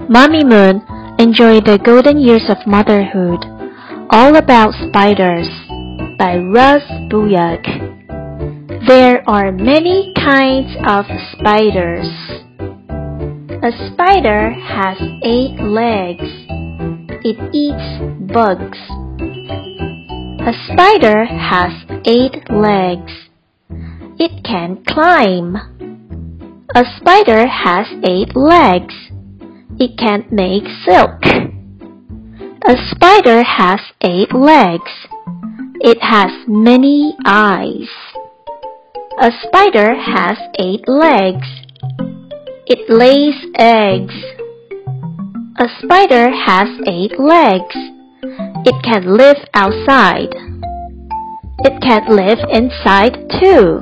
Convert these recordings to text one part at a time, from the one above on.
Mommy Moon enjoyed the golden years of motherhood. All About Spiders by Russ Buyck. There are many kinds of spiders. A spider has 8 legs. It eats bugs. A spider has 8 legs. It can climb. A spider has 8 legs. It can make silk. A spider has 8 legs. It has many eyes. A spider has 8 legs. It lays eggs. A spider has 8 legs. It can live outside. It can live inside too.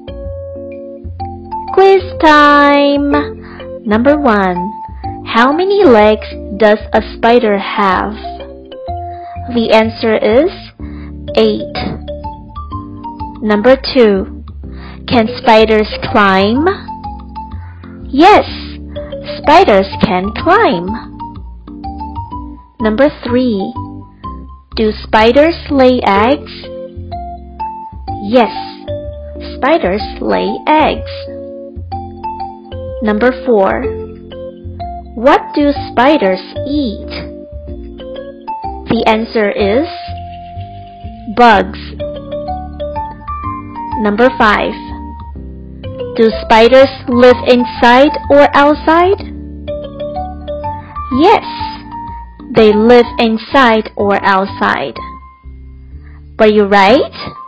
Quiz time! Number 1. How many legs does a spider have? The answer is 8. Number 2. Can spiders climb? Yes, spiders can climb. Number 3. Do spiders lay eggs? Yes, spiders lay eggs. Number 4. What do spiders eat? The answer is bugs. Number 5. Do spiders live inside or outside? Yes, they live inside or outside. Were you right?